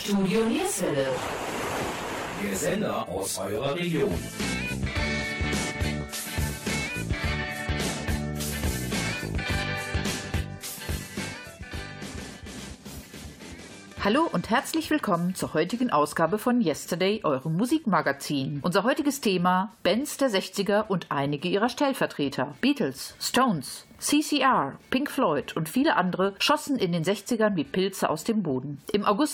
Studio Nierswelle. Der Sender aus eurer Region. Hallo und herzlich willkommen zur heutigen Ausgabe von Yesterday, eurem Musikmagazin. Unser heutiges Thema: Bands der 60er und einige ihrer Stellvertreter. Beatles, Stones, CCR, Pink Floyd und viele andere schossen in den 60ern wie Pilze aus dem Boden. Im August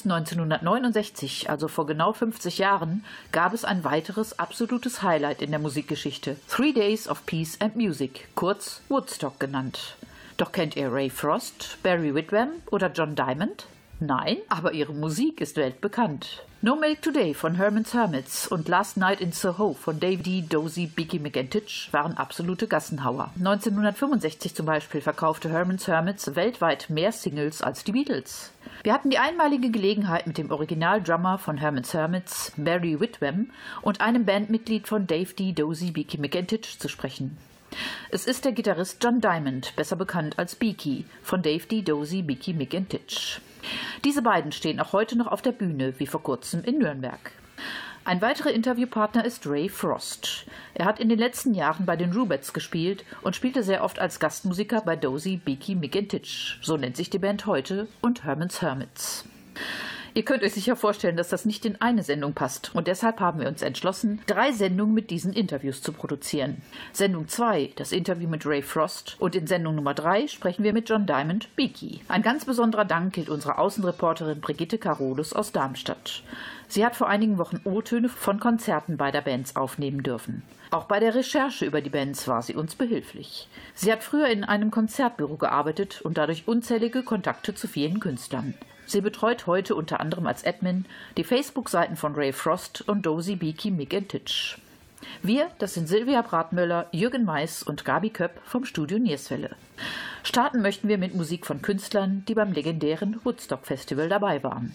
1969, also vor genau 50 Jahren, gab es ein weiteres absolutes Highlight in der Musikgeschichte. 3 Days of Peace and Music, kurz Woodstock genannt. Doch kennt ihr Ray Frost, Barry Whitwam oder John Diamond? Nein, aber ihre Musik ist weltbekannt. No Milk Today von Herman's Hermits und Last Night in Soho von Dave D. Dozy, Beaky McEntitch waren absolute Gassenhauer. 1965 zum Beispiel verkaufte Herman's Hermits weltweit mehr Singles als die Beatles. Wir hatten die einmalige Gelegenheit, mit dem Originaldrummer von Herman's Hermits, Barry Whitwam, und einem Bandmitglied von Dave D. Dozy, Beaky McEntitch zu sprechen. Es ist der Gitarrist John Diamond, besser bekannt als Beaky, von Dave D. Dozy, Beaky McEntitch. Diese beiden stehen auch heute noch auf der Bühne, wie vor kurzem in Nürnberg. Ein weiterer Interviewpartner ist Ray Frost. Er hat in den letzten Jahren bei den Rubettes gespielt und spielte sehr oft als Gastmusiker bei Dozy, Beaky McEntitch, so nennt sich die Band heute, und Herman's Hermits. Ihr könnt euch sicher vorstellen, dass das nicht in eine Sendung passt. Und deshalb haben wir uns entschlossen, 3 Sendungen mit diesen Interviews zu produzieren. Sendung 2, das Interview mit Ray Frost. Und in Sendung Nummer 3 sprechen wir mit John Diamond, Beaky. Ein ganz besonderer Dank gilt unserer Außenreporterin Brigitte Carolus aus Darmstadt. Sie hat vor einigen Wochen O-Töne von Konzerten beider Bands aufnehmen dürfen. Auch bei der Recherche über die Bands war sie uns behilflich. Sie hat früher in einem Konzertbüro gearbeitet und dadurch unzählige Kontakte zu vielen Künstlern. Sie betreut heute unter anderem als Admin die Facebook-Seiten von Ray Frost und Dozy, Beaky McEntitch. Wir, das sind Silvia Bratmöller, Jürgen Mais und Gabi Köpp vom Studio Nierswelle. Starten möchten wir mit Musik von Künstlern, die beim legendären Woodstock Festival dabei waren.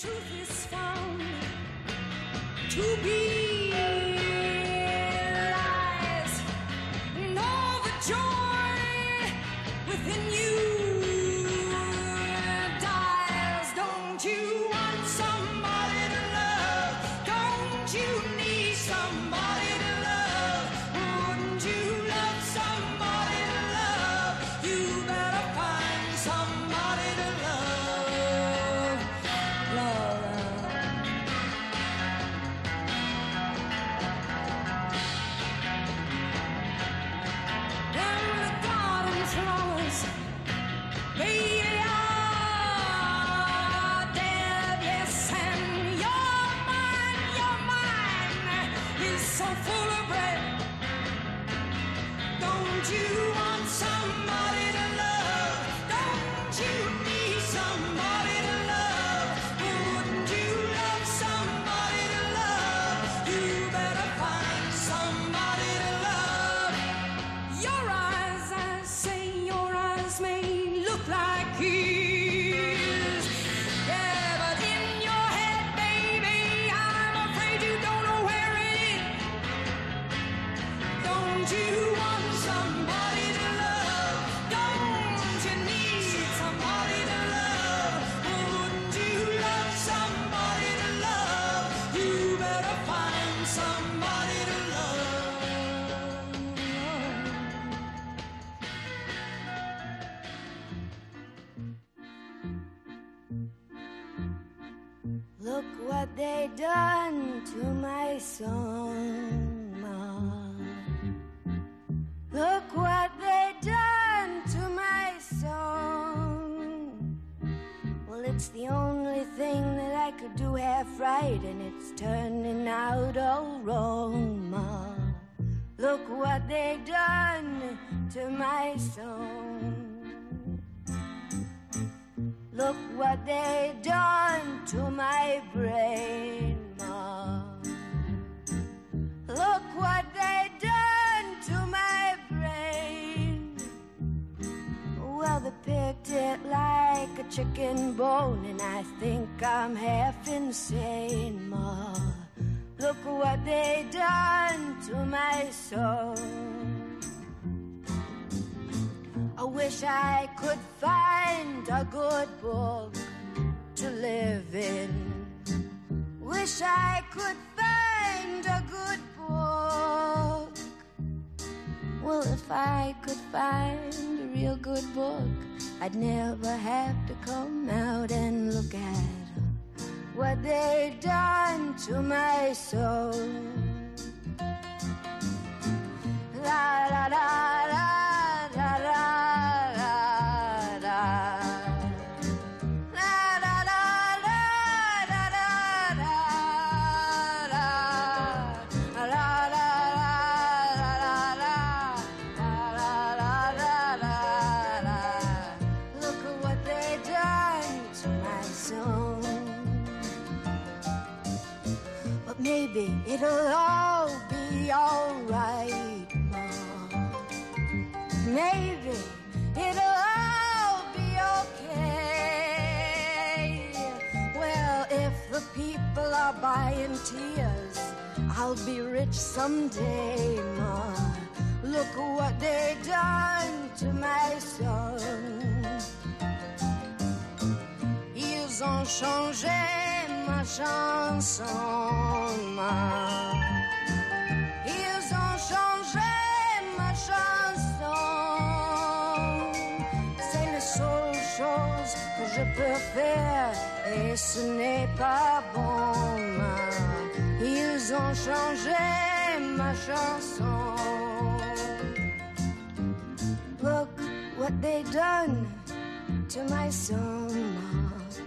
Look what they done to my song, Ma. Look what they done to my song. Well, it's the only thing that I could do half right, and it's turning out all wrong, Ma. Look what they done to my song. Look what they done to my brain, Ma. Look what they done to my brain. Well, they picked it like a chicken bone, and I think I'm half insane, Ma. Look what they done to my soul. I wish I could find a good book to live in. Wish I could find a good book. Well, if I could find a real good book, I'd never have to come out and look at what they done to my soul. La la la la la la la la. Maybe it'll all be alright, Mom. Maybe it'll all be okay. Well, if the people are buying tears, I'll be rich someday, Ma. Look what they done to my son. Ils ont changé ma chanson, ma. Ils ont changé ma chanson. C'est la seule chose que je peux faire et ce n'est pas bon, ma. Ils ont changé ma chanson. Look what they done to my son, ma.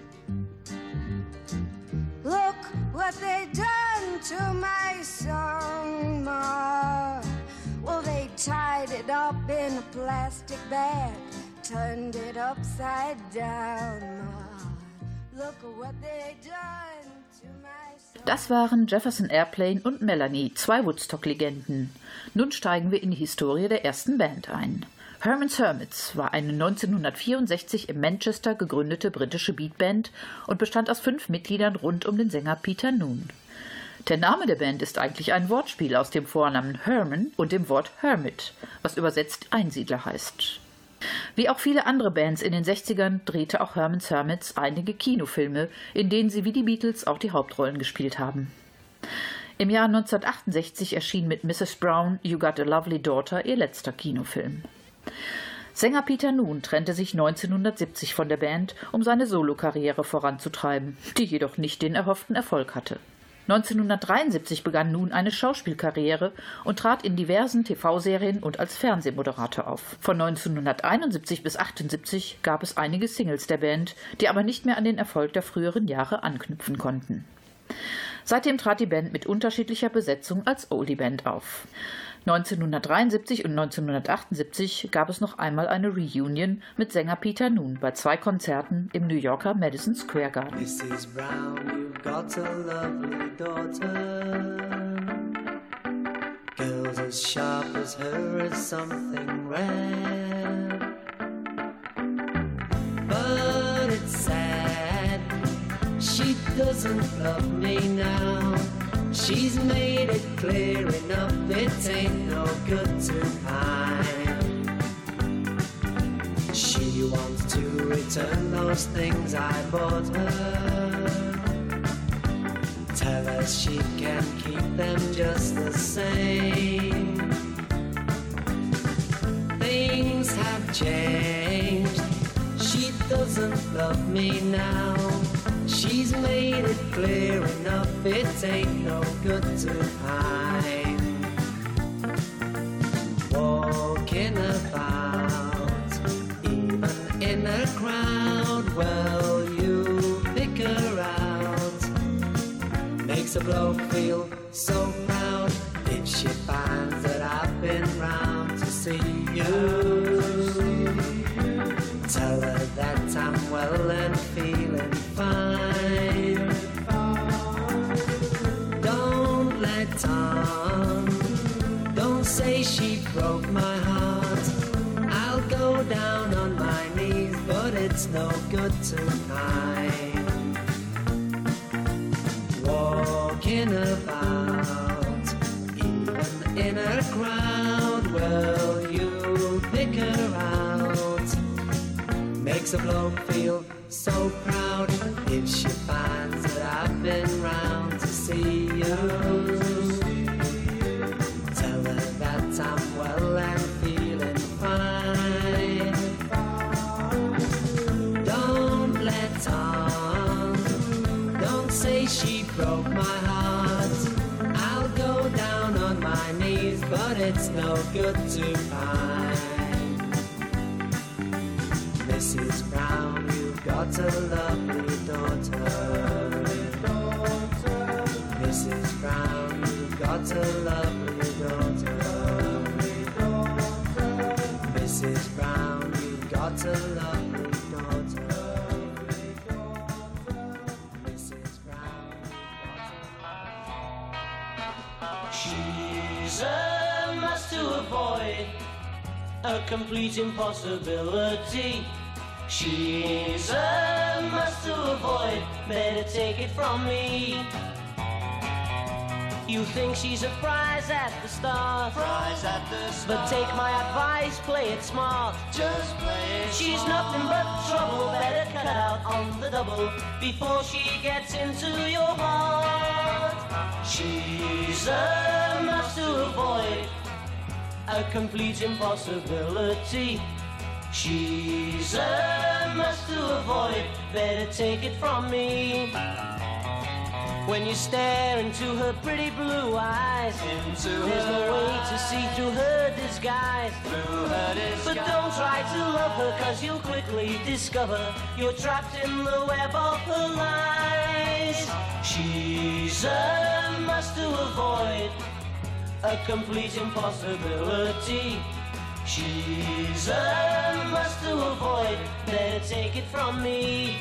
Look what they done to my son, Ma. Well, they tied it up in a plastic bag, turned it upside down, Ma. Look what they done to my son. Das waren Jefferson Airplane und Melanie, zwei Woodstock-Legenden. Nun steigen wir in die Historie der ersten Band ein. Herman's Hermits war eine 1964 in Manchester gegründete britische Beatband und bestand aus 5 Mitgliedern rund um den Sänger Peter Noone. Der Name der Band ist eigentlich ein Wortspiel aus dem Vornamen Herman und dem Wort Hermit, was übersetzt Einsiedler heißt. Wie auch viele andere Bands in den 60ern drehte auch Herman's Hermits einige Kinofilme, in denen sie wie die Beatles auch die Hauptrollen gespielt haben. Im Jahr 1968 erschien mit Mrs. Brown You Got a Lovely Daughter ihr letzter Kinofilm. Sänger Peter Noone trennte sich 1970 von der Band, um seine Solokarriere voranzutreiben, die jedoch nicht den erhofften Erfolg hatte. 1973 begann Noone eine Schauspielkarriere und trat in diversen TV-Serien und als Fernsehmoderator auf. Von 1971 bis 1978 gab es einige Singles der Band, die aber nicht mehr an den Erfolg der früheren Jahre anknüpfen konnten. Seitdem trat die Band mit unterschiedlicher Besetzung als Oldie-Band auf. 1973 und 1978 gab es noch einmal eine Reunion mit Sänger Peter Noone bei 2 Konzerten im New Yorker Madison Square Garden. Mrs. Brown, you've got a lovely daughter. Girls as sharp as her is something rare. But it's sad, she doesn't love me now. She's made it clear enough, it ain't no good to hide. She wants to return those things I bought her. Tell her she can keep them just the same. Things have changed, she doesn't love me now. She's made it clear enough, it ain't no good to hide. Walking about, even in a crowd, well, you pick her out. Makes a bloke feel so proud if she finds that I've been round to see you. Tell her that I'm well and feeling fine. Don't let on, don't say she broke my heart. I'll go down on my knees, but it's no good tonight. Walking about, even in a crowd, well, you pick her out. makes a bloke feel so proud if she finds that I've been round to see you. Tell her that I'm well and feeling fine. Don't let on, don't say she broke my heart. I'll go down on my knees, but it's no good to find. Mrs. Brown, you've got a lovely daughter. Mrs. Brown, you've got a lovely daughter. Mrs. Brown, you've got a lovely daughter. Mrs. Brown, she's a must to avoid, a complete impossibility. She's a must to avoid, better take it from me. You think she's a prize at the start, but take my advice, play it smart. Just play it she's smart. Nothing but trouble, better cut out on the double before she gets into your heart. She's a must to avoid, a complete impossibility. She's a must to avoid, better take it from me. When you stare into her pretty blue eyes, there's no way to see through her disguise. But don't try to love her, cause you'll quickly discover you're trapped in the web of her lies. She's a must to avoid, a complete impossibility. She's a must to avoid, better take it from me.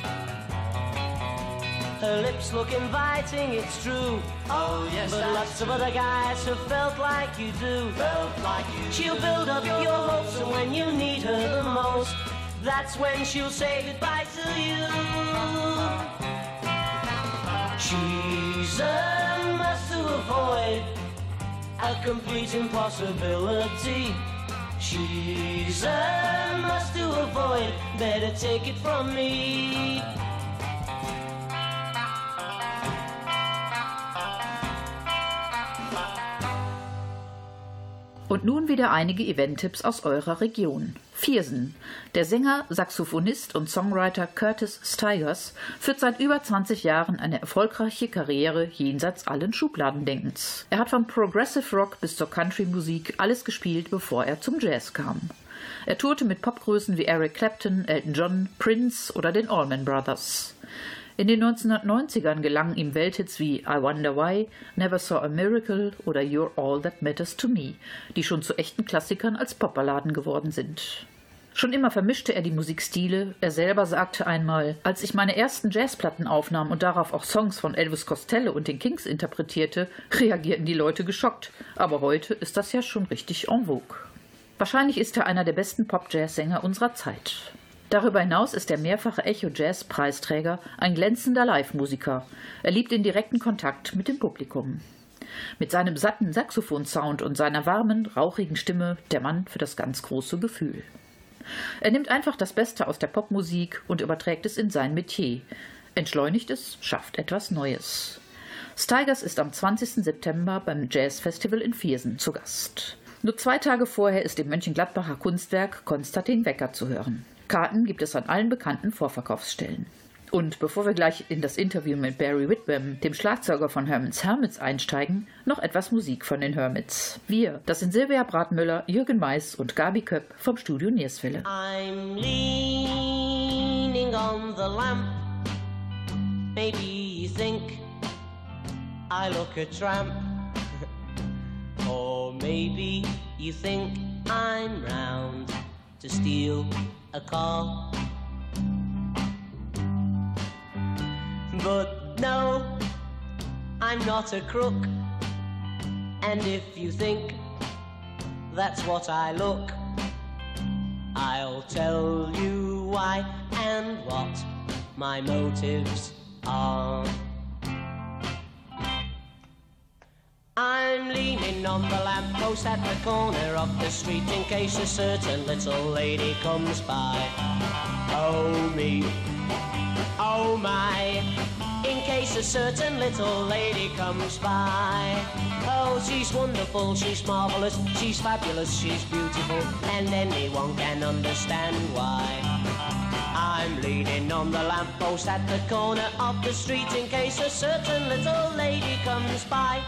Her lips look inviting, it's true. Oh yes, but lots of other guys have felt like you do. She'll build up your hopes, and when you need her the most, that's when she'll say goodbye to you. She's a must to avoid, a complete impossibility. She's a must to avoid, better take it from me. Und nun wieder einige Event-Tipps aus eurer Region. Viersen. Der Sänger, Saxophonist und Songwriter Curtis Stigers führt seit über 20 Jahren eine erfolgreiche Karriere jenseits allen Schubladendenkens. Er hat vom Progressive Rock bis zur Country-Musik alles gespielt, bevor er zum Jazz kam. Er tourte mit Popgrößen wie Eric Clapton, Elton John, Prince oder den Allman Brothers. In den 1990ern gelangen ihm Welthits wie I Wonder Why, Never Saw a Miracle oder You're All That Matters to Me, die schon zu echten Klassikern als Popballaden geworden sind. Schon immer vermischte er die Musikstile. Er selber sagte einmal: Als ich meine ersten Jazzplatten aufnahm und darauf auch Songs von Elvis Costello und den Kings interpretierte, reagierten die Leute geschockt. Aber heute ist das ja schon richtig en vogue. Wahrscheinlich ist er einer der besten Pop-Jazz-Sänger unserer Zeit. Darüber hinaus ist der mehrfache Echo-Jazz-Preisträger ein glänzender Live-Musiker. Er liebt den direkten Kontakt mit dem Publikum. Mit seinem satten Saxophon-Sound und seiner warmen, rauchigen Stimme der Mann für das ganz große Gefühl. Er nimmt einfach das Beste aus der Popmusik und überträgt es in sein Metier. Entschleunigt es, schafft etwas Neues. Stigers ist am 20. September beim Jazz-Festival in Viersen zu Gast. Nur 2 Tage vorher ist im Mönchengladbacher Kunstwerk Konstantin Wecker zu hören. Karten gibt es an allen bekannten Vorverkaufsstellen. Und bevor wir gleich in das Interview mit Barry Whitwam, dem Schlagzeuger von Herman's Hermits, einsteigen, noch etwas Musik von den Hermits. Wir, das sind Silvia Bratmüller, Jürgen Mais und Gabi Köpp vom Studio Nierswelle. I'm leaning on the lamp. Maybe you think I look a tramp. Or maybe you think I'm round to steal a car. But no, I'm not a crook. And if you think that's what I look, I'll tell you why and what my motives are. I'm leaning on the lamppost lamppost at the corner of the street in case a certain little lady comes by. Oh me, oh my, in case a certain little lady comes by. Oh, she's wonderful, she's marvelous, she's fabulous, she's beautiful, and anyone can understand why. I'm leaning on the lamppost at the corner of the street in case a certain little lady comes by.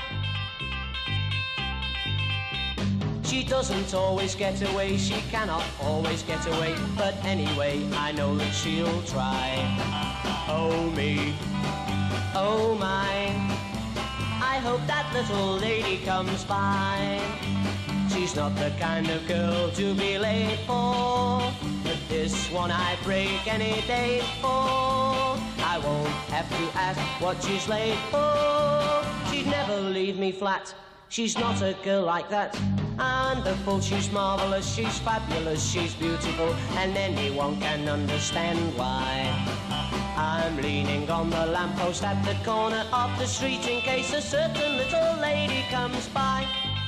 She doesn't always get away, she cannot always get away, but anyway, I know that she'll try. Oh me, oh my, I hope that little lady comes by. She's not the kind of girl to be late for, but this one I'd break any day for. I won't have to ask what she's late for. She'd never leave me flat, she's not a girl like that. Wonderful, she's marvelous, she's fabulous, she's beautiful, and anyone can understand why. I'm leaning on the lamppost at the corner of the street in case a certain little lady comes by.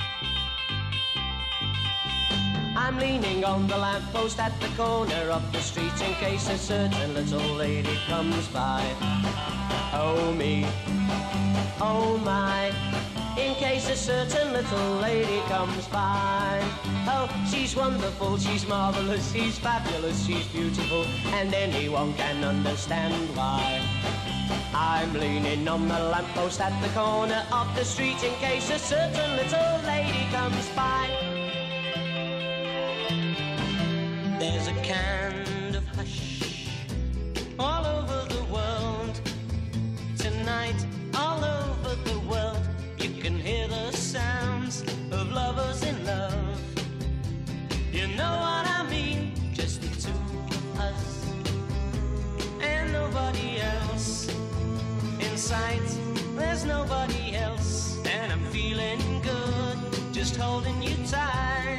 I'm leaning on the lamppost at the corner of the street in case a certain little lady comes by. Oh me, oh my, in case a certain little lady comes by. Oh, she's wonderful, she's marvelous, she's fabulous, she's beautiful, and anyone can understand why. I'm leaning on the lamppost at the corner of the street in case a certain little lady comes by. There's a kind of hush all over the world tonight, all over the world. You can hear the sounds of lovers in love. You know what I mean? Just the two of us and nobody else. In sight, there's nobody else, and I'm feeling good, just holding you tight.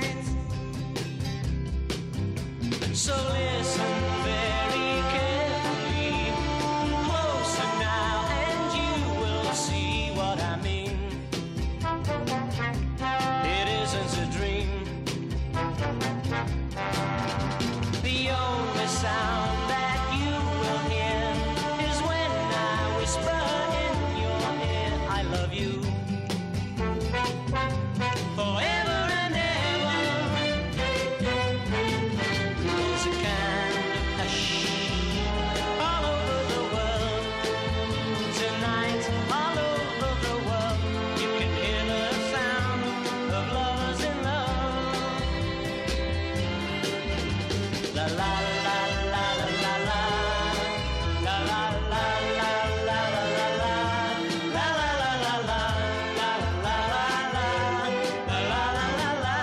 So listen very carefully, closer now, and you will see what I mean. It isn't a dream. The only sound that you will hear is when I whisper in your ear, I love you. Forever and ever. There's a kind of hush all over the world tonight, all over the world. You can hear the sound of lovers in love. La la la la la la la. La la la la la la la la. La la la la la. La la la la. La la la la.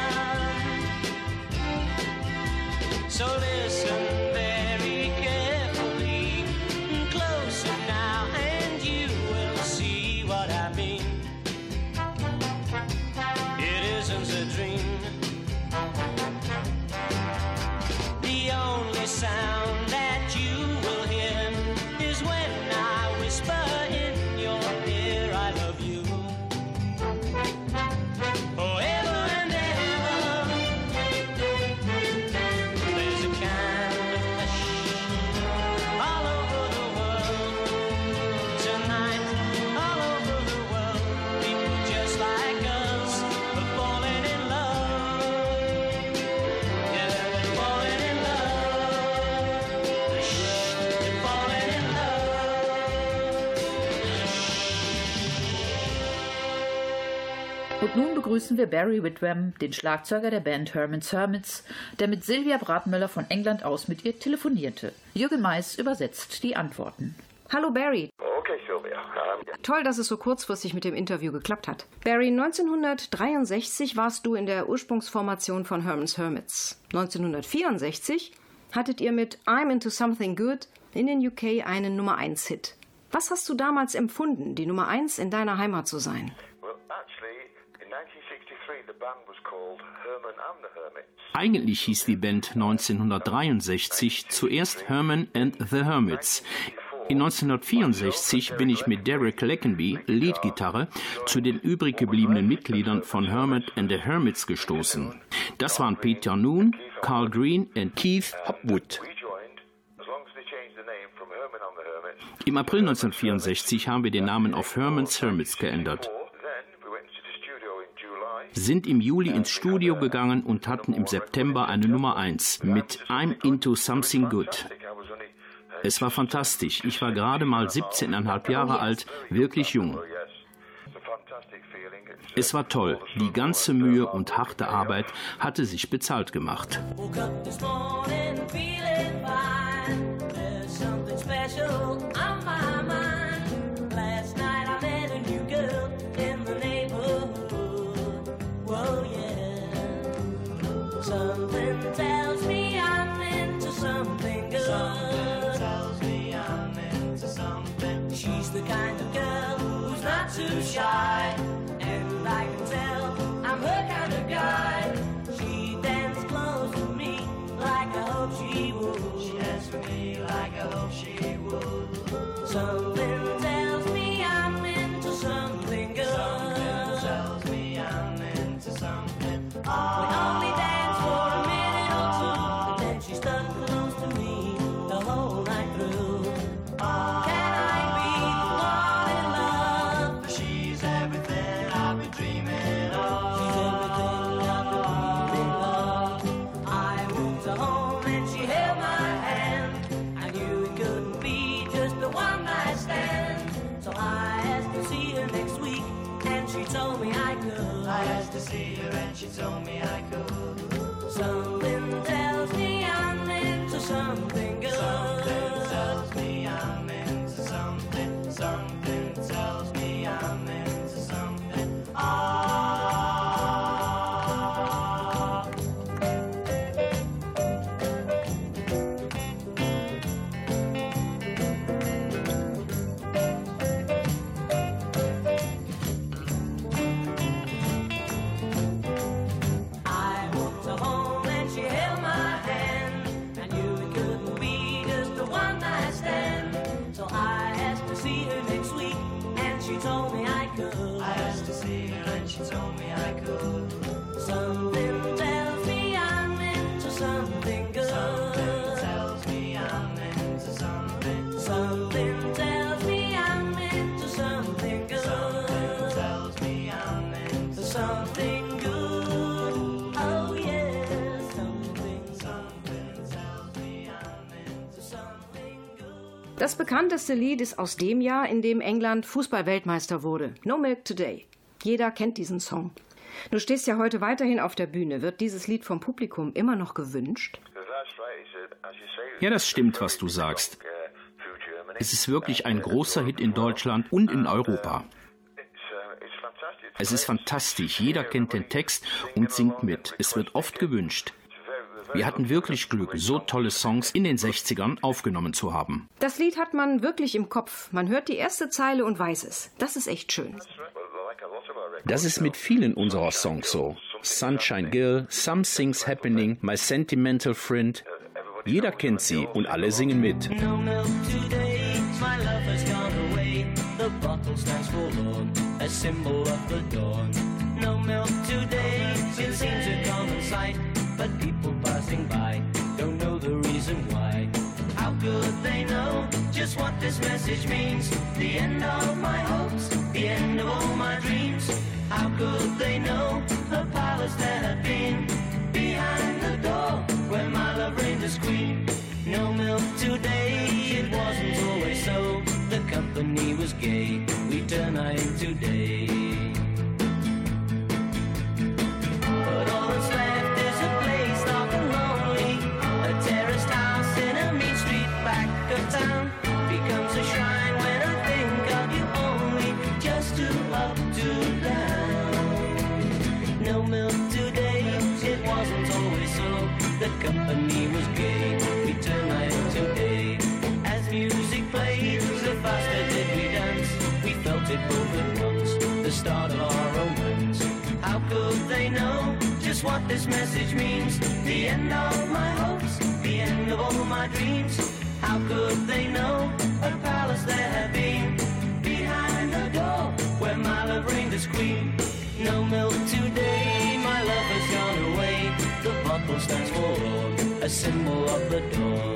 So listen very carefully, closer now, and you will see what I mean. It isn't a dream. The only sound that you will hear is when I whisper in your ear, I love you. Forever and ever. There's a kind of hush all over the world tonight, all over the world. People just like us are falling in love. Yeah, they're falling in love. They're falling in love. Und nun begrüßen wir Barry Whitwam, den Schlagzeuger der Band Herman's Hermits, der mit Sylvia Bratmöller von England aus mit ihr telefonierte. Jürgen Mais übersetzt die Antworten. Hallo Barry. Okay, Sylvia. Toll, dass es so kurzfristig mit dem Interview geklappt hat. Barry, 1963 warst du in der Ursprungsformation von Herman's Hermits. 1964 hattet ihr mit I'm Into Something Good in den UK einen Nummer-1-Hit. Was hast du damals empfunden, die Nummer 1 in deiner Heimat zu sein? Well, actually, in 1963 the band was called Herman and the Hermits. Eigentlich hieß die Band 1963 zuerst Herman and the Hermits. In 1964 bin ich mit Derek Leckenby, Leadgitarre, zu den übrig gebliebenen Mitgliedern von Hermit and the Hermits gestoßen. Das waren Peter Noone, Carl Green und Keith Hopwood. Im April 1964 haben wir den Namen auf Herman's Hermits geändert, sind im Juli ins Studio gegangen und hatten im September eine Nummer 1 mit I'm Into Something Good. Es war fantastisch. Ich war gerade mal 17,5 Jahre alt, wirklich jung. Es war toll. Die ganze Mühe und harte Arbeit hatte sich bezahlt gemacht. Something tells me I'm into something good. Something tells me I'm into something. She's the kind of girl who's not too shy, and I can tell I'm her kind of guy. She dances close to me like I hope she would. She dances for me like I hope she would. Something tells me I'm into something good. Something tells me I'm into something. We only dance for a minute or two, then she stuck close to me the whole night through. Can I be the one in love? She's everything I've been dreaming of. She's everything I've been dreaming of. I went to home and she held my hand. I knew it couldn't be just a one-night stand. So I asked to see her next week, and she told me I could. I asked to see her and she told me I could. Something tells me I'm into something good. Something tells me I'm into something. Something tells me I'm into something. Something tells me I'm into something good. Something tells me I'm into something. Something tells me I'm into something good. Something tells me I'm into something good. Oh yeah, something tells me I'm into something good. Das bekannteste Lied ist aus dem Jahr, in dem England Fußball-Weltmeister wurde. No Milk Today. Jeder kennt diesen Song. Du stehst ja heute weiterhin auf der Bühne. Wird dieses Lied vom Publikum immer noch gewünscht? Ja, das stimmt, was du sagst. Es ist wirklich ein großer Hit in Deutschland und in Europa. Es ist fantastisch. Jeder kennt den Text und singt mit. Es wird oft gewünscht. Wir hatten wirklich Glück, so tolle Songs in den 60ern aufgenommen zu haben. Das Lied hat man wirklich im Kopf. Man hört die erste Zeile und weiß es. Das ist echt schön. Das ist mit vielen unserer Songs so. Sunshine Girl, Something's Happening, My Sentimental Friend. Jeder kennt sie und alle singen mit. No milk today, my love has gone away. The bottle stands forlorn, a symbol of the dawn. No milk today, it seems a common sight, but people passing by don't know the reason why. How could they know just what this message means? The end of my hopes, the end of all my dreams. How could they know a palace there had been behind the door where my love reigned as queen? No milk today, it wasn't always so. The company was gay, we turned night into day. But all that's left is a place dark and lonely, a terraced house in a mean street back of town. Becomes a shrine when I think of you only, just too up, too down. No milk today, it wasn't always so. The company was gay, we turned night into day. As music played, the faster did we dance. We felt it both at once, the start of our romance. How could they know just what this message means? The end of my hopes, the end of all my dreams. How could they know a palace palace there had been, behind the door where my love reigned as queen. No milk today, my love has gone away. The bottle stands forlorn, a symbol of the dawn.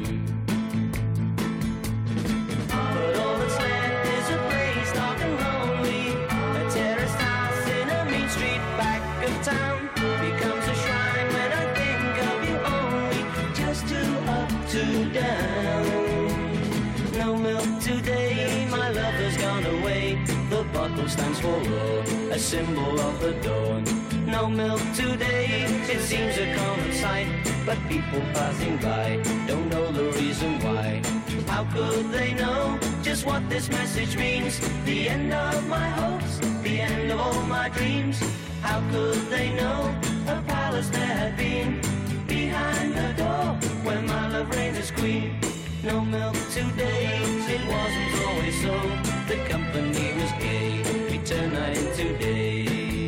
But all that's left is a place dark and lonely. A terraced house in a mean street back of town becomes a shrine when I think of you only. Just two up, two down. No milk today, my love has gone away. The bottle stands forlorn, a symbol of the dawn. No milk today, it seems a common sight, but people passing by don't know the reason why. How could they know just what this message means? The end of my hopes, the end of all my dreams. How could they know a palace there had been, behind the door where my love reigned as queen? No milk today, it wasn't always so. The company was gay, we turned night into day.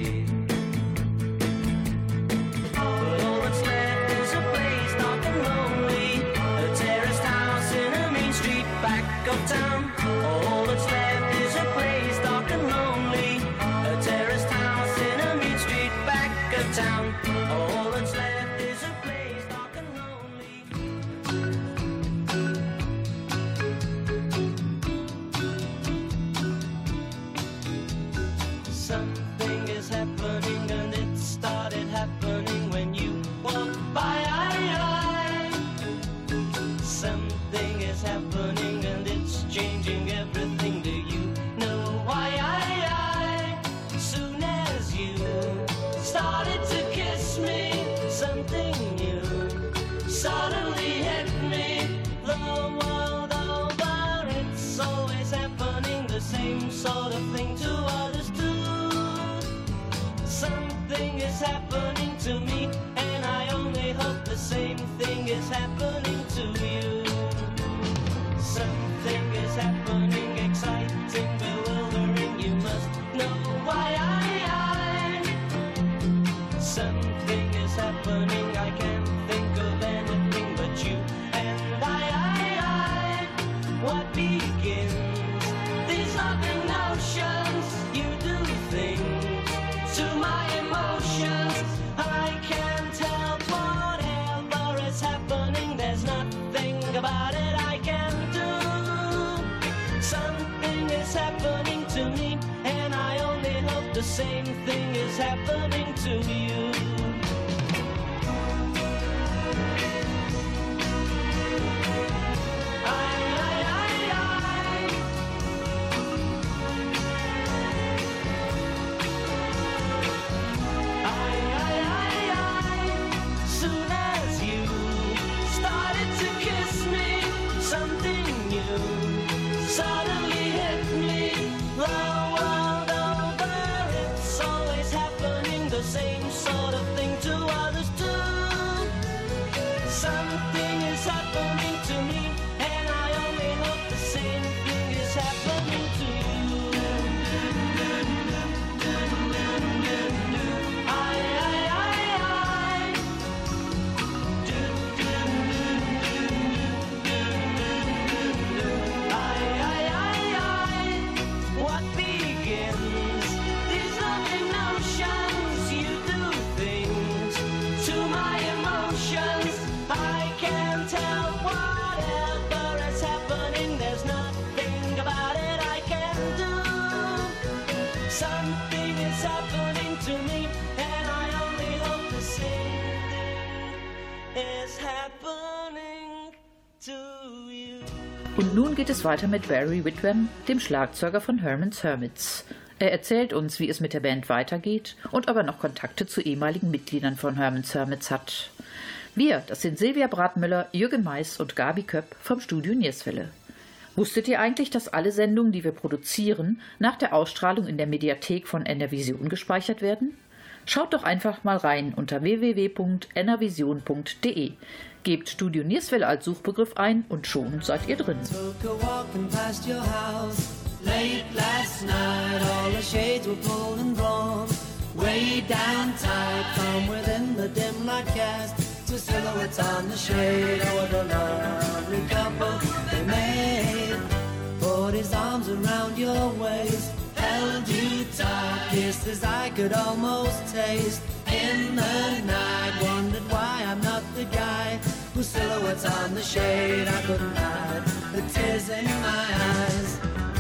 But all that's left is a place dark and lonely, a terraced house in a mean street back of town. All that's left is a place dark and lonely, a terraced house in a mean street back of town. All that's left is a place dark and lonely. Something is happening and it started happening when you walked by. Something is happening and it's changing everything. Do you know why? Soon as you started to kiss me, something new suddenly hit me. The world over, it's always happening, the same sort of thing to others too. Something is happening to me, and I only hope the same thing is happening to you. Something is happening, exciting, bewildering, you must know why. Something is happening, I can't think of anything but you and I. What begins these loving notions? You do things to my emotions. I can't help whatever is happening. There's nothing about it I can do. Something is happening to me, and I only hope the same thing is happening to you. Soon as you started to kiss me, something new suddenly hit me. The world over, it's always happening, the same sort of thing to others too. Something is happening to me, and I only hope the same thing is happening to you. What begins these loving notions? You do things to my emotions. I can't tell whatever is happening. There's nothing about it I can do. Something is happening to me, and I only hope the same thing is happening to you. Und nun geht es weiter mit Barry Whitwam, dem Schlagzeuger von Herman's Hermits. Er erzählt uns, wie es mit der Band weitergeht und ob er noch Kontakte zu ehemaligen Mitgliedern von Herman's Hermits hat. Wir, das sind Silvia Bratmüller, Jürgen Mais und Gabi Köpp vom Studio Nierswelle. Wusstet ihr eigentlich, dass alle Sendungen, die wir produzieren, nach der Ausstrahlung in der Mediathek von NRVision gespeichert werden? Schaut doch einfach mal rein unter www.nrvision.de. Gebt Studio Nierswelle als Suchbegriff ein und schon seid ihr drin. Took a walking past your house late last night. All the shades were pulled and drawn way down tight. From within the dim light cast two silhouettes on the shade. Oh, what a lovely couple they made. Dark kisses I could almost taste in the night. Wondered why I'm not the guy whose silhouette's on the shade. I couldn't hide the tears in my eyes.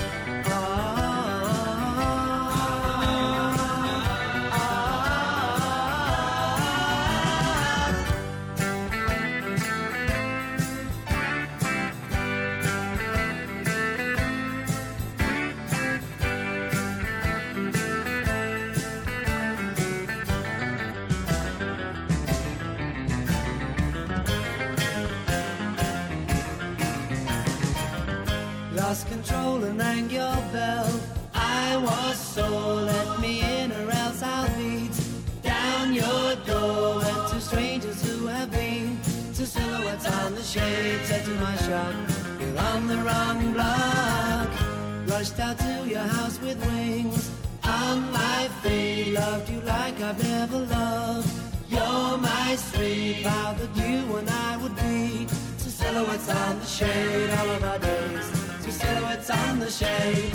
Lost control and rang your bell. I was sore, let me in or else I'll beat down your door. Went to strangers who have been to silhouettes on the shade. Said to my shock, you're on the wrong block. Rushed out to your house with wings on my feet. Loved you like I've never loved. You're my sweet, vowed that you and I would be to silhouettes on the shade all of our days. To silhouettes on the shade.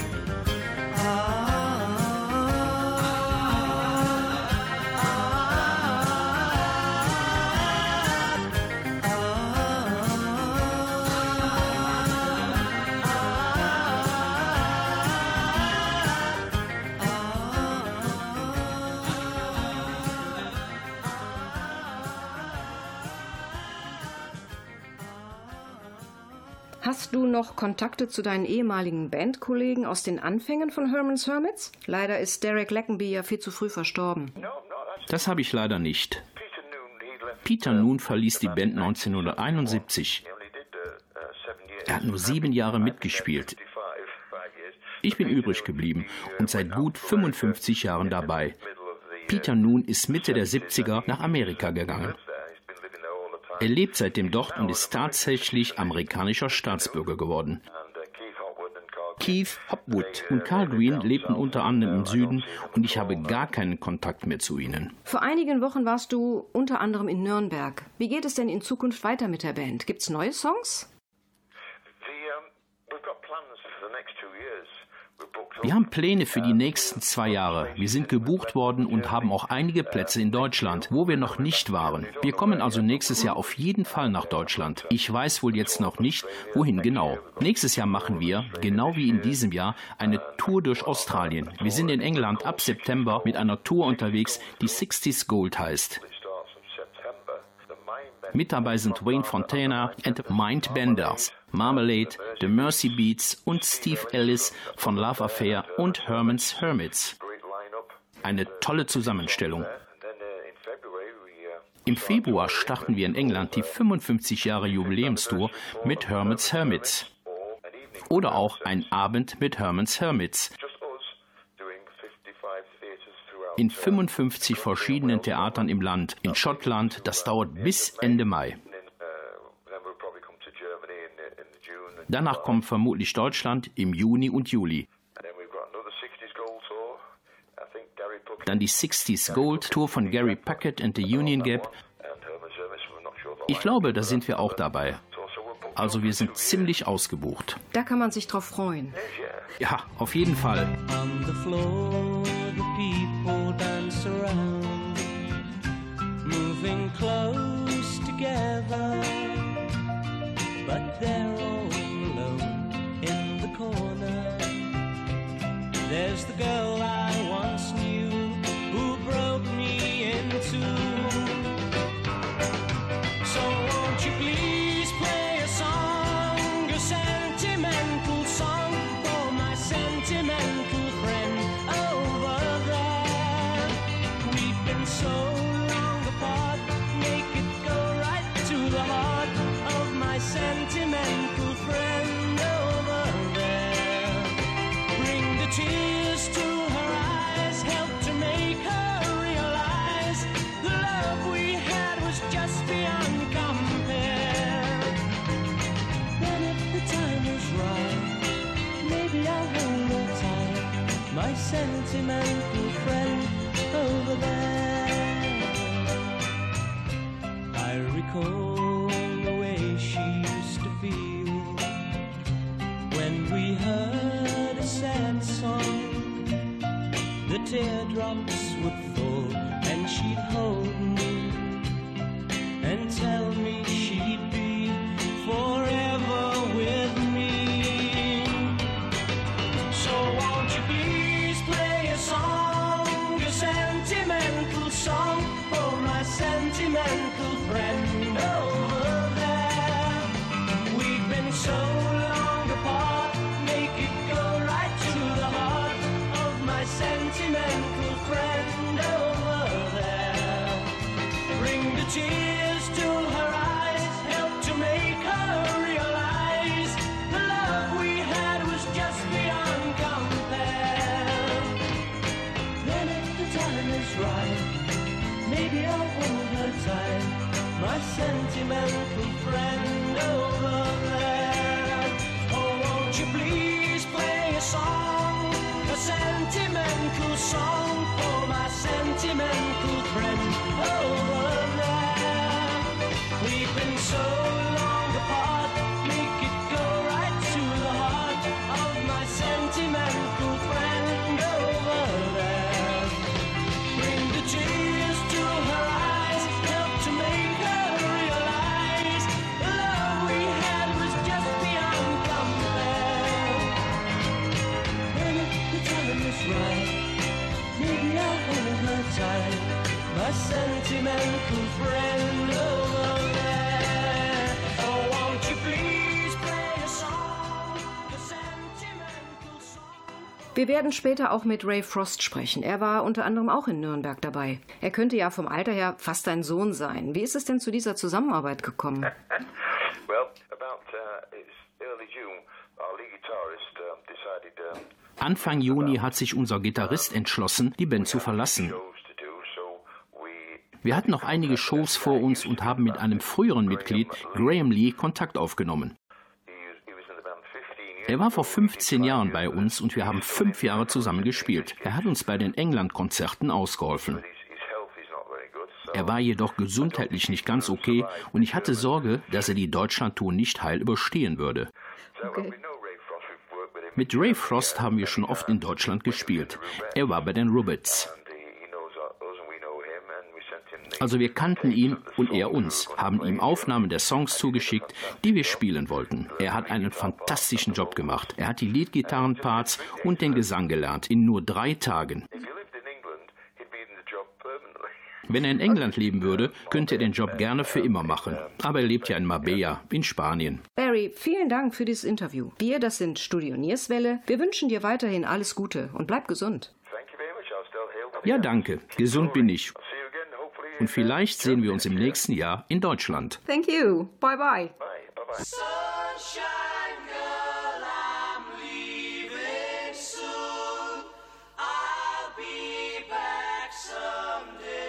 Hast du noch Kontakte zu deinen ehemaligen Bandkollegen aus den Anfängen von Herman's Hermits? Leider ist Derek Leckenby ja viel zu früh verstorben. Das habe ich leider nicht. Peter Noone verließ die Band 1971. Er hat nur 7 Jahre mitgespielt. Ich bin übrig geblieben und seit gut 55 Jahren dabei. Peter Noone ist Mitte der 70er nach Amerika gegangen. Er lebt seitdem dort und ist tatsächlich amerikanischer Staatsbürger geworden. Keith Hopwood und Carl Green lebten unter anderem im Süden und ich habe gar keinen Kontakt mehr zu ihnen. Vor einigen Wochen warst du unter anderem in Nürnberg. Wie geht es denn in Zukunft weiter mit der Band? Gibt's neue Songs? Wir haben Pläne für die nächsten 2 Jahre. Wir sind gebucht worden und haben auch einige Plätze in Deutschland, wo wir noch nicht waren. Wir kommen also nächstes Jahr auf jeden Fall nach Deutschland. Ich weiß wohl jetzt noch nicht, wohin genau. Nächstes Jahr machen wir, genau wie in diesem Jahr, eine Tour durch Australien. Wir sind in England ab September mit einer Tour unterwegs, die 60s Gold heißt. Mit dabei sind Wayne Fontana and Mindbenders, Marmalade, The Mercy Beats und Steve Ellis von Love Affair und Herman's Hermits. Eine tolle Zusammenstellung. Im Februar starten wir in England die 55 Jahre Jubiläumstour mit Herman's Hermits. Oder auch ein Abend mit Herman's Hermits. In 55 verschiedenen Theatern im Land. In Schottland, das dauert bis Ende Mai. Danach kommt vermutlich Deutschland im Juni und Juli. Dann die 60s Gold Tour von Gary Puckett and the Union Gap. Ich glaube, da sind wir auch dabei. Also wir sind ziemlich ausgebucht. Da kann man sich drauf freuen. Ja, auf jeden Fall. On the floor, the people dance around, moving close together, but they're all alone in the corner. There's the girl I once knew who broke me in two. So won't you please play a song, a sentimental song for my sentimental friend over there. We've been so long apart, make it go right to the heart of my sentimental friend over there. Bring the tears to her eyes, help to make her realize the love we had was just beyond compare. Then if the time is right, maybe I'll hold her tight, my sentimental friend over there. I recall the way she used to feel when we heard a sad song. The teardrops would fall and she'd hold me and tell me she'd be forever with me. So won't you please play a song, a sentimental song for my sentimental friend over there. We've been so long apart, make it go right to the heart of my sentimental friend over there. Bring the tears to her eyes, help to make her realize the love we had was just beyond compare. Then if the time is right, maybe I'll hold her tight, my sentimental friend over there. Oh, won't you please play a song, a sentimental song for my sentimental friend over there. We've been so long apart, make it go right to the heart of my sentimental friend over there. Bring the tears to her eyes, help to make her realize the love we had was just beyond compare. And if the time is right, maybe I'll hold her tight, my sentimental friend over there. Oh, won't you please play a song, a sentimental song. Wir werden später auch mit Ray Frost sprechen. Er war unter anderem auch in Nürnberg dabei. Er könnte ja vom Alter her fast dein Sohn sein. Wie ist es denn zu dieser Zusammenarbeit gekommen? Well, about it's early June, our lead guitarist decided Anfang Juni hat sich unser Gitarrist entschlossen, die Band zu verlassen. shows to do, so we Wir hatten noch einige Shows vor uns und haben mit einem früheren Mitglied, Graham Lee, Kontakt aufgenommen. he was in the band 15 years. Er war vor 15 Jahren bei uns und wir haben 5 Jahre zusammen gespielt. Er hat uns bei den England-Konzerten ausgeholfen. His health is not very good, so Er war jedoch gesundheitlich nicht ganz okay und ich hatte Sorge, dass er die Deutschlandtour nicht heil überstehen würde. we know Ray Frost, we've worked with him. Mit Ray Frost haben wir schon oft in Deutschland gespielt. Er war bei den Rubbets. And he knows us and we know him, and we sent him the Also wir kannten ihn und er uns, haben ihm Aufnahmen der Songs zugeschickt, die wir spielen wollten. Er hat einen fantastischen Job gemacht. Er hat die Leadgitarrenparts und den Gesang gelernt in nur 3 Tagen. If he lived in England, he'd be in the job permanently. Wenn er in England leben würde, könnte er den Job gerne für immer machen. Aber er lebt ja in Marbella, in Spanien. Barry, vielen Dank für dieses Interview. Wir, das sind Studio Nierswelle. Wir wünschen dir weiterhin alles Gute und bleib gesund. Thank you very much. I'll still hail the Ja, danke. Gesund bin ich. See you again, hopefully. Und vielleicht sehen wir uns im nächsten Jahr in Deutschland. Thank you. Bye bye. Bye. Sunshine girl, I'm leaving soon. I'll be back someday.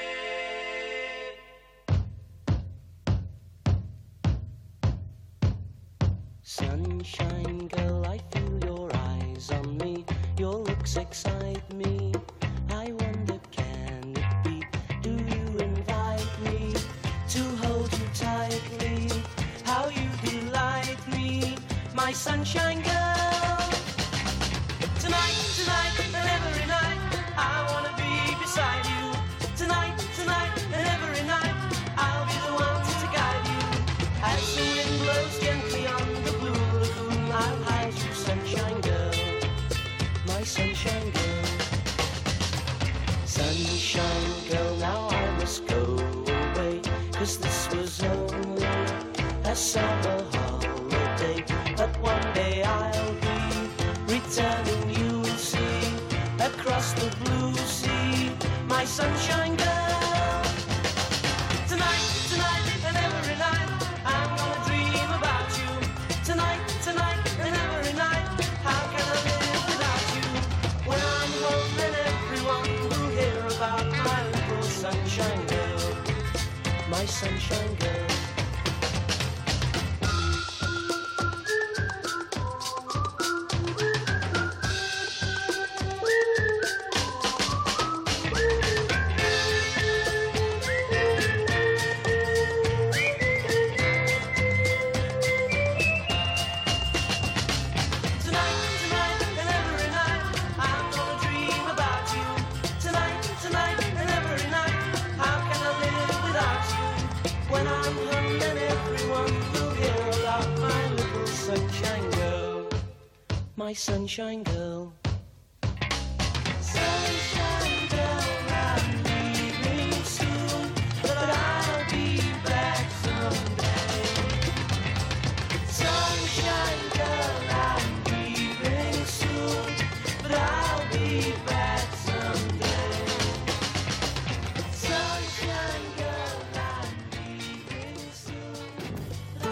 Sunshine girl, I feel your eyes on me. Your looks excite me. I wonder, can it be? Do you invite me to hold you tightly? How you delight me, my sunshine girl. Tonight, tonight, and every night, I wanna be beside you. Tonight, tonight, and every night, I'll be the one to guide you. As the wind blows gently on the blue lagoon, I'll hide you, sunshine girl, my sunshine girl. Sunshine girl, now I must go away, 'cause this was only a summer holiday. But one day I'll be returning, you will see, across the blue sea, my sunshine girl. Tonight, tonight, and every night, I'm gonna dream about you. Tonight, tonight, and every night, how can I live without you? When I'm home, then everyone will hear about my little sunshine girl, my sunshine girl. Tonight, tonight, and every night, I'm gonna dream about you. my sunshine girl. Sunshine girl, I'm leaving soon, but I'll be back someday. Sunshine girl, I'm leaving soon, but I'll be back someday. Sunshine girl, I'm leaving soon.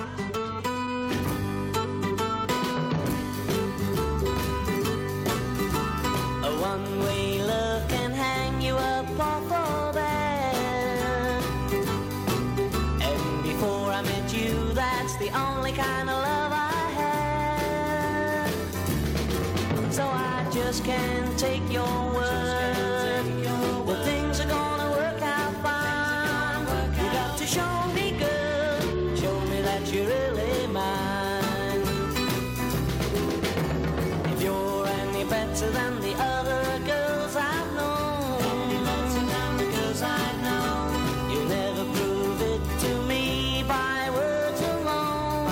A one-way love can hang you up off a bed. And before I met you, that's the only kind of love I had. So I just can't take your word that things are gonna work out fine. You got to show me, girl, show me that you're really mine. If you're any better than the other girls I've known, you'll never prove it to me by words alone.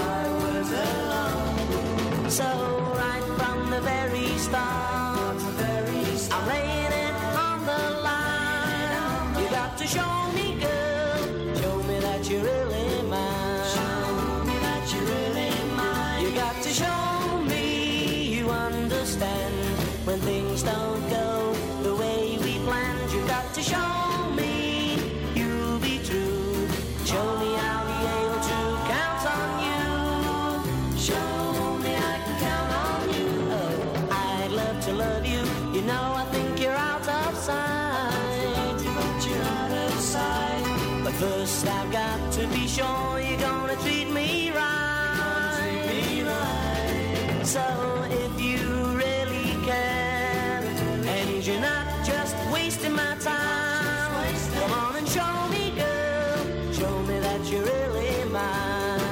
So right from the very start, I'm laying it on the line. You got to show me, girl, show me that you're really mine. Show me that you're really mine. You got to show me you understand when things don't go the way we planned. You got to show me you'll be true. Show me I'll be able to count on you. Show me I can count on you. Oh, I'd love to love you. You know I think you're out of sight. But you're out of sight. But first I've got to be sure you're gonna treat me right. So if you really care, and you're not just wasting my time, come on and show me, girl, show me that you're really mine.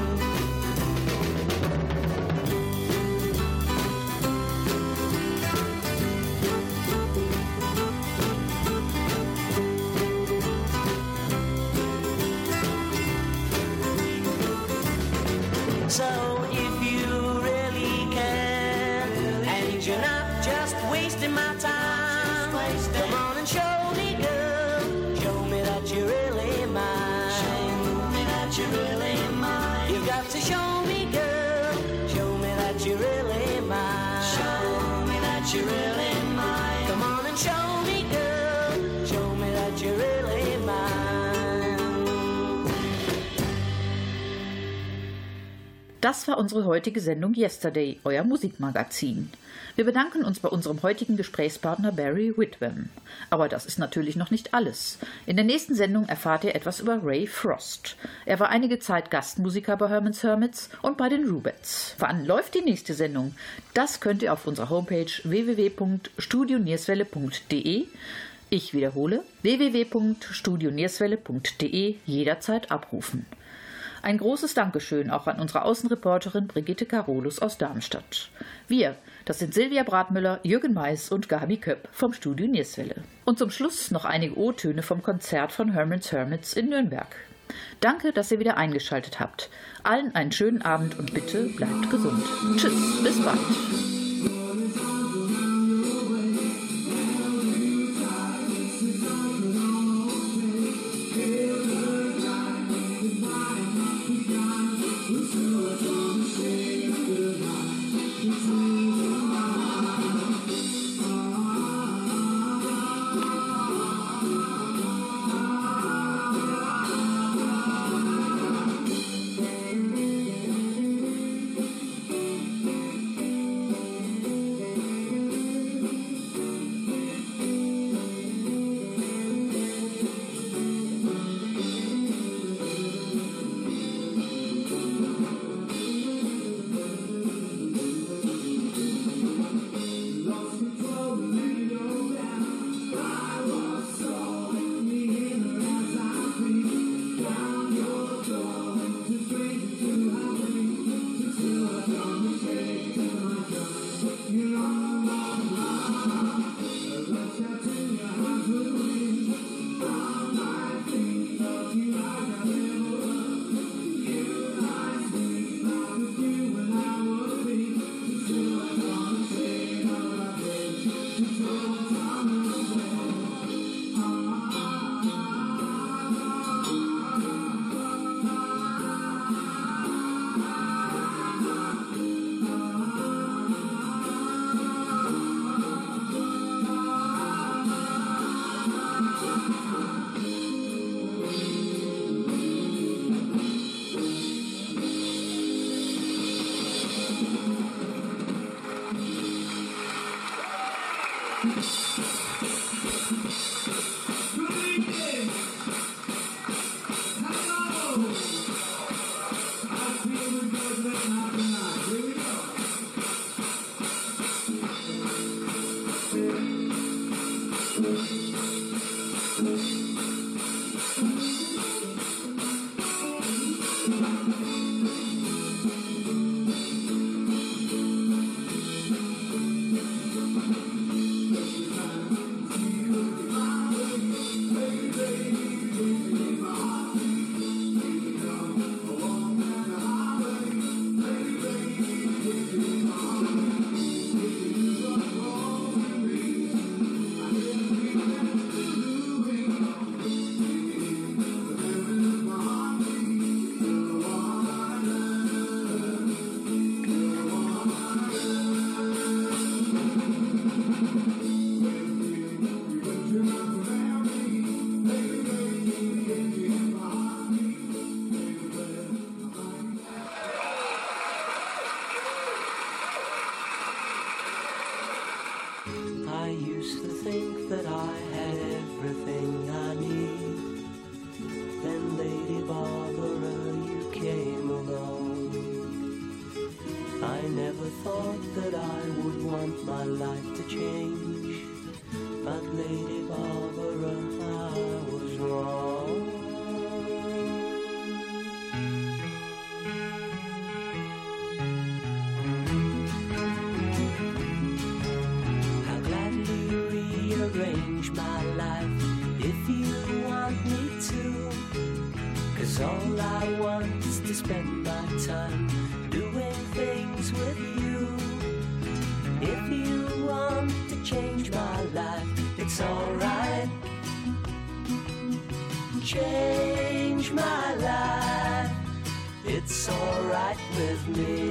So if you really care, and you're not just wasting my time, come on and show me, girl, show me that you're really mine. Show me that you're really mine. You've got to show me, girl, show me that you're really mine. Show me that you're really mine. Come on and show me, girl, show me that you're really mine. Das war unsere heutige Sendung Yesterday, euer Musikmagazin. Wir bedanken uns bei unserem heutigen Gesprächspartner Barry Whitwam. Aber das ist natürlich noch nicht alles. In der nächsten Sendung erfahrt ihr etwas über Ray Frost. Er war einige Zeit Gastmusiker bei Herman's Hermits und bei den Rubettes. Wann läuft die nächste Sendung? Das könnt ihr auf unserer Homepage www.studionierswelle.de, ich wiederhole, www.studionierswelle.de jederzeit abrufen. Ein großes Dankeschön auch an unsere Außenreporterin Brigitte Carolus aus Darmstadt. Wir, das sind Silvia Bratmüller, Jürgen Mais und Gabi Köpp vom Studio Nierswelle. Und zum Schluss noch einige O-Töne vom Konzert von Herman's Hermits in Nürnberg. Danke, dass ihr wieder eingeschaltet habt. Allen einen schönen Abend und bitte bleibt gesund. Tschüss, bis bald. used to think that I had everything I need. Then Lady Barbara, you came along. I never thought that I would want my life to change, but Lady Barbara, I was wrong. I'll gladly rearrange my life if you want me to, 'cause all I want is to spend my time doing things with you. If you want to change my life, it's alright. Change my life, it's alright with me.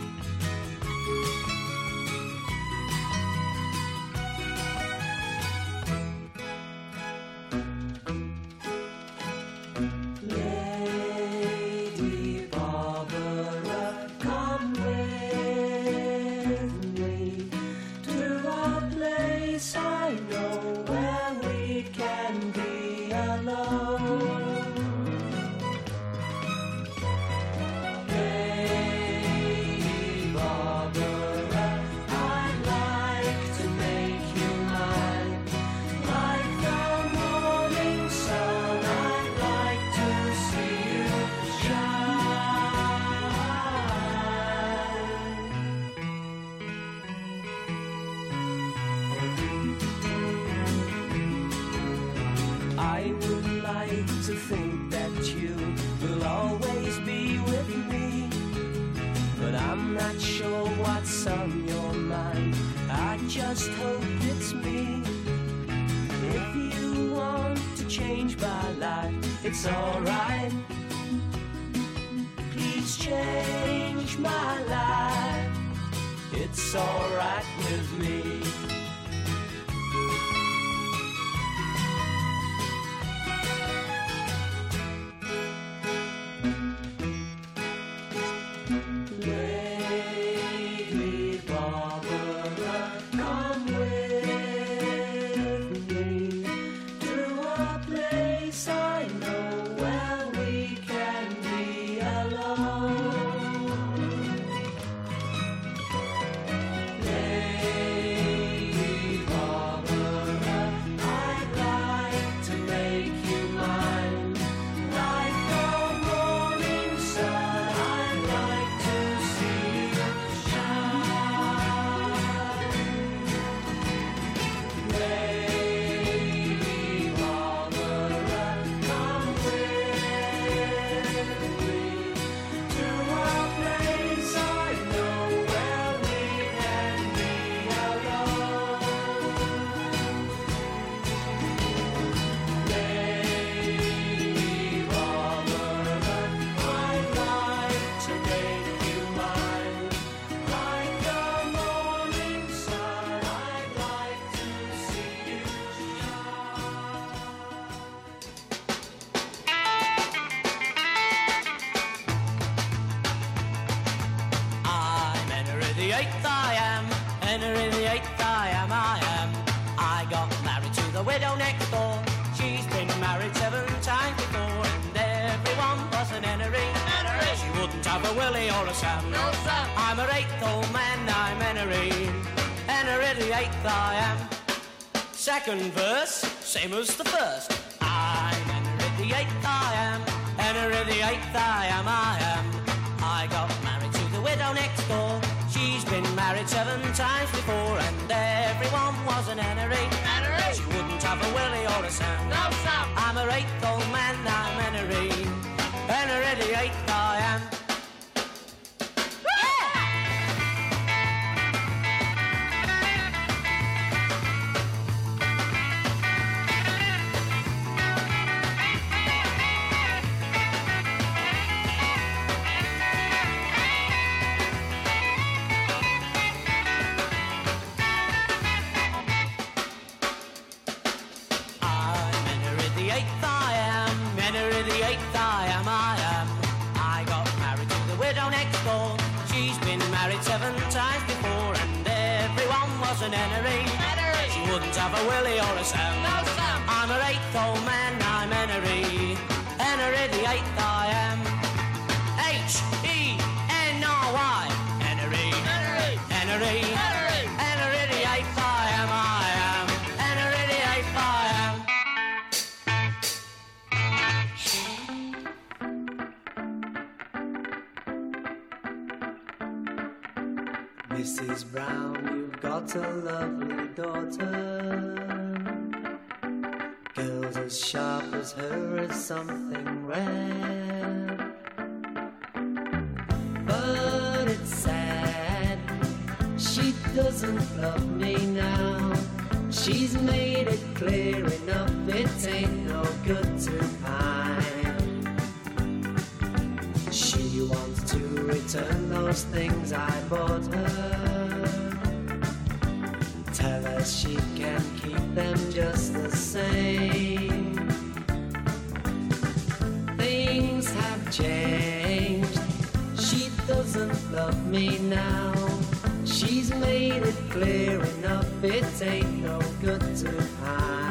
Just hope it's me. If you want to change my life, it's alright. Please change my life, it's alright with me. Second verse, same as the first. I'm Henry the Eighth, I am. Henry the Eighth, I am, I am. I got married to the widow next door. She's been married 7 times before, and everyone was an Henry. Henry. She wouldn't have a Willie or a Sam. No, Sam. I'm her 8th old man, I'm Henry. Henry the Eighth, I am. An Henry. She wouldn't have a Willie or a Sam. No, Sam. I'm an eighth old man, I'm Henry. Henry the eighth I am. H-E-N-R-Y. Henry. Henry. Henry. Henry. Henry the eighth I am. Henry the eighth I am. Mrs. Brown, you've got a lovely daughter. Girls as sharp as her is something rare. But it's sad, she doesn't love me now. She's made it clear enough, it ain't no good to pine. She wants to return those things I bought her. Tell her she can keep them just the same. Things have changed. She doesn't love me now. She's made it clear enough, it ain't no good to hide.